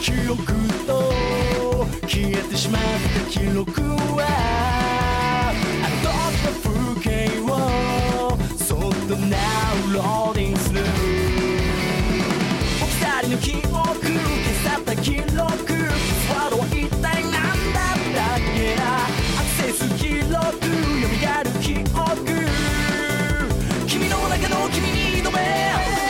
記憶と消えてしまった記録はあの時の風景をそっとナウローディングする僕二人の記憶消さった記録ワードは一体何だったっけなアクセス記録蘇る記憶君の中の君に挑め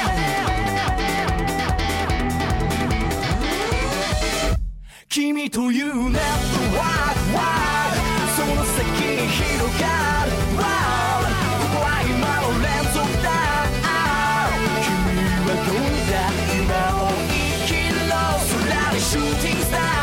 君というネットワークはその先に広がるここは今の連続だ君はどうだ今を生きろ空にシューティングスター